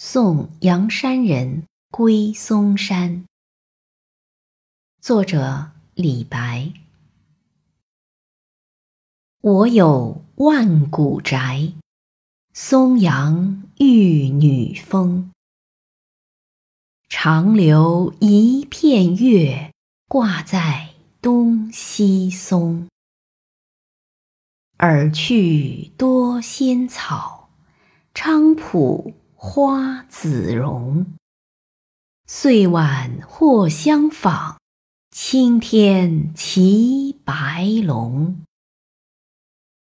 送阳山人归嵩山。作者李白。我有万古宅，松阳玉女峰。长留一片月，挂在东西松。尔去多仙草，菖蒲花自荣。岁晚或相访，青天齐白龙。